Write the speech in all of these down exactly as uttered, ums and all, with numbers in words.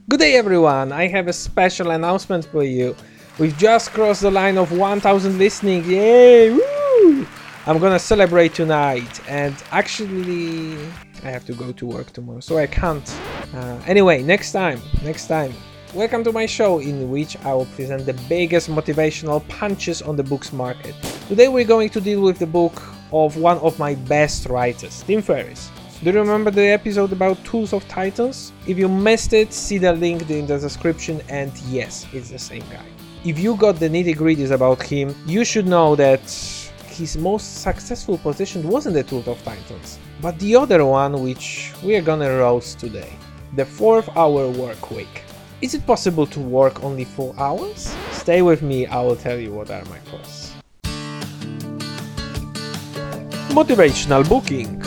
Good day everyone, I have a special announcement for you. We've just crossed the line of one thousand listening, yay! Woo! I'm gonna celebrate tonight, and actually I have to go to work tomorrow, so I can't. Uh, anyway, next time, next time. Welcome to my show in which I will present the biggest motivational punches on the books market. Today we're going to deal with the book of one of my best writers, Tim Ferriss. Do you remember the episode about Tools of Titans? If you missed it, see the link in the description, and yes, it's the same guy. If you got the nitty-gritties about him, you should know that his most successful position wasn't the Tools of Titans, but the other one which we are gonna roast today, the fourth hour work week. Is it possible to work only four hours? Stay with me, I will tell you what are my thoughts. Motivational booking.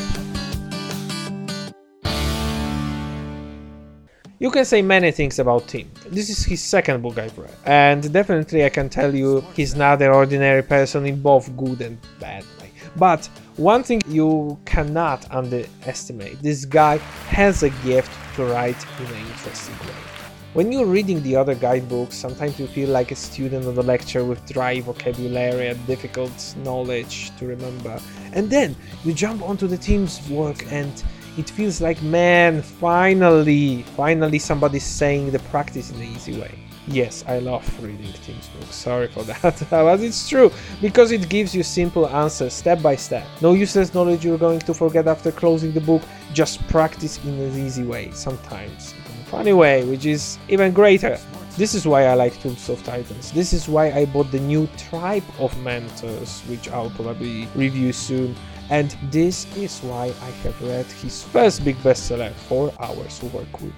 You can say many things about Tim. This is his second book I've read, and definitely I can tell you he's not an ordinary person in both good and bad way. But one thing you cannot underestimate, this guy has a gift to write in an interesting way. When you're reading the other guidebooks, sometimes you feel like a student of the lecture with dry vocabulary and difficult knowledge to remember. And then you jump onto the Tim's work and it feels like, man, finally, finally somebody's saying the practice in an easy way. Yes, I love reading Tim's books, sorry for that, but it's true, because it gives you simple answers step by step. No useless knowledge you're going to forget after closing the book, just practice in an easy way, sometimes in a funny way, which is even greater. This is why I like Tools of Titans. This is why I bought the new Tribe of Mentors, which I'll probably review soon. And this is why I have read his first big bestseller, four hours Work Week.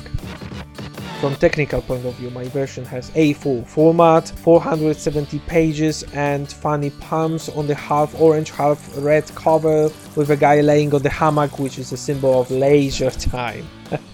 From technical point of view, my version has A four format, four hundred seventy pages, and funny palms on the half orange, half red cover with a guy laying on the hammock, which is a symbol of leisure time.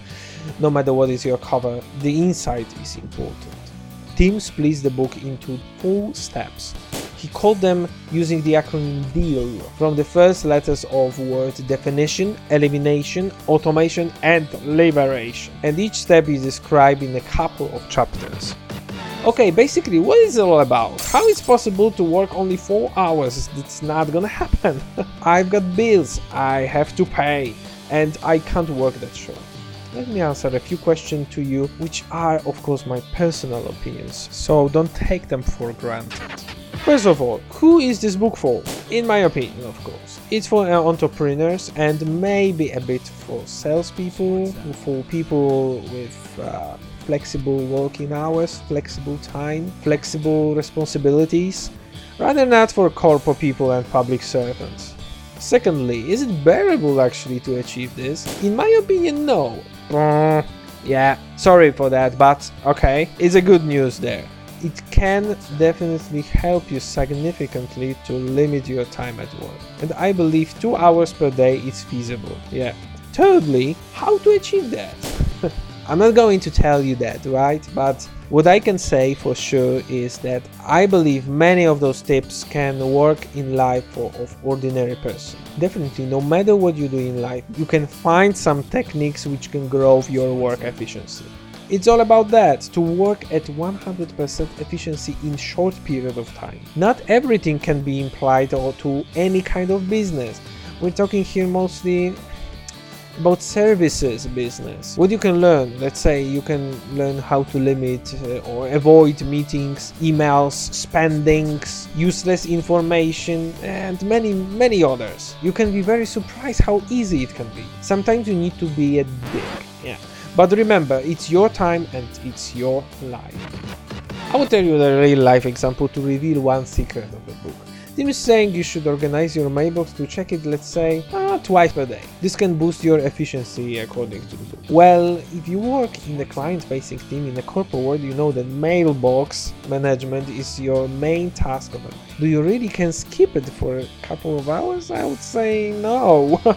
No matter what is your cover, the inside is important. Tim splits the book into four steps. He called them using the acronym DEAL from the first letters of word definition, elimination, automation, and liberation. And each step is described in a couple of chapters. Okay, basically, what is it all about? How is it possible to work only four hours? It's not gonna happen. I've got bills I have to pay, and I can't work that short. Let me answer a few questions to you, which are, of course, my personal opinions, so don't take them for granted. First of all, who is this book for? In my opinion, of course. It's for entrepreneurs and maybe a bit for salespeople, for people with uh, flexible working hours, flexible time, flexible responsibilities, rather not for corporate people and public servants. Secondly, is it bearable actually to achieve this? In my opinion, no. Uh, yeah, sorry for that, but okay, it's a good news there. It can definitely help you significantly to limit your time at work. And I believe two hours per day is feasible. Yeah. Thirdly, how to achieve that? I'm not going to tell you that, right? But what I can say for sure is that I believe many of those tips can work in life for of ordinary person. Definitely, no matter what you do in life, you can find some techniques which can grow your work efficiency. It's all about that, to work at one hundred percent efficiency in short period of time. Not everything can be applied to any kind of business. We're talking here mostly about services business. What you can learn, let's say you can learn how to limit uh, or avoid meetings, emails, spendings, useless information, and many, many others. You can be very surprised how easy it can be. Sometimes you need to be a dick, yeah. But remember, it's your time and it's your life. I will tell you a real life example to reveal one secret of the book. Tim is saying you should organize your mailbox to check it, let's say, uh, twice per day. This can boost your efficiency according to the book. Well, if you work in the client-facing team in the corporate world, you know that mailbox management is your main task of it. Do you really can skip it for a couple of hours? I would say no.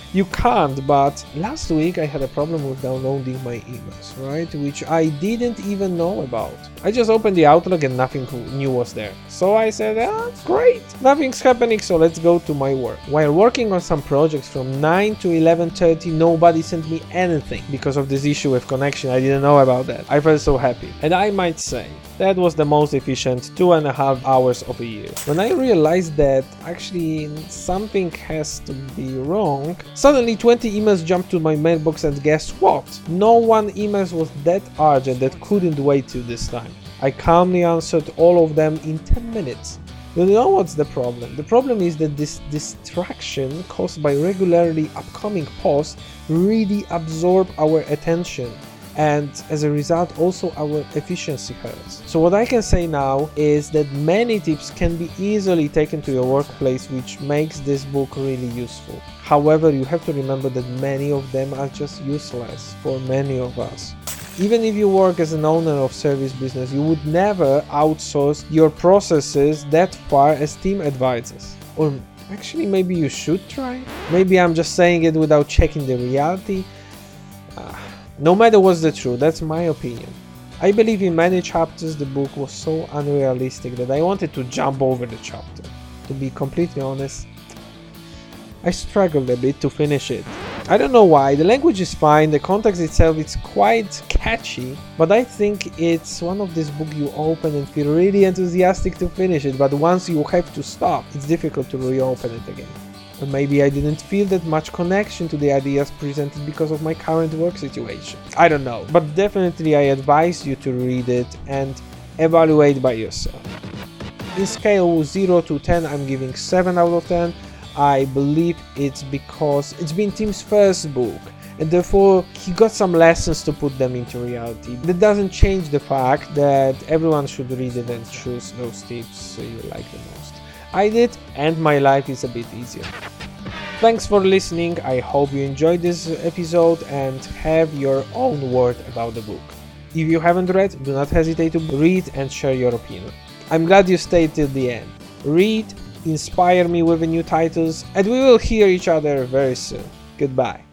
You can't, but last week I had a problem with downloading my emails, right? Which I didn't even know about. I just opened the Outlook and nothing new was there. So I said, ah, great, nothing's happening, so let's go to my work. While working on some projects from nine to eleven thirty, nobody sent me anything because of this issue with connection. I didn't know about that. I felt so happy. And I might say, that was the most efficient two and a half hours of a year. When I realized that actually something has to be wrong, suddenly twenty emails jumped to my mailbox, and guess what? No one emails was that urgent that couldn't wait till this time. I calmly answered all of them in ten minutes. You know what's the problem? The problem is that this distraction caused by regularly upcoming posts really absorb our attention, and as a result also our efficiency hurts. So what I can say now is that many tips can be easily taken to your workplace, which makes this book really useful. However, you have to remember that many of them are just useless for many of us. Even if you work as an owner of service business, you would never outsource your processes that far as team advisors. Or actually maybe you should try? Maybe I'm just saying it without checking the reality. Uh, no matter what's the truth, that's my opinion. I believe in many chapters the book was so unrealistic that I wanted to jump over the chapter. To be completely honest, I struggled a bit to finish it. I don't know why, the language is fine, the context itself is quite catchy, but I think it's one of these books you open and feel really enthusiastic to finish it, but once you have to stop, it's difficult to reopen it again. Or maybe I didn't feel that much connection to the ideas presented because of my current work situation. I don't know, but definitely I advise you to read it and evaluate by yourself. In scale zero to ten, I'm giving seven out of ten. I believe it's because it's been Tim's first book, and therefore he got some lessons to put them into reality. That doesn't change the fact that everyone should read it and choose those tips you like the most. I did, and my life is a bit easier. Thanks for listening. I hope you enjoyed this episode and have your own word about the book. If you haven't read, do not hesitate to read and share your opinion. I'm glad you stayed till the end. Read, inspire me with new titles, and we will hear each other very soon. Goodbye.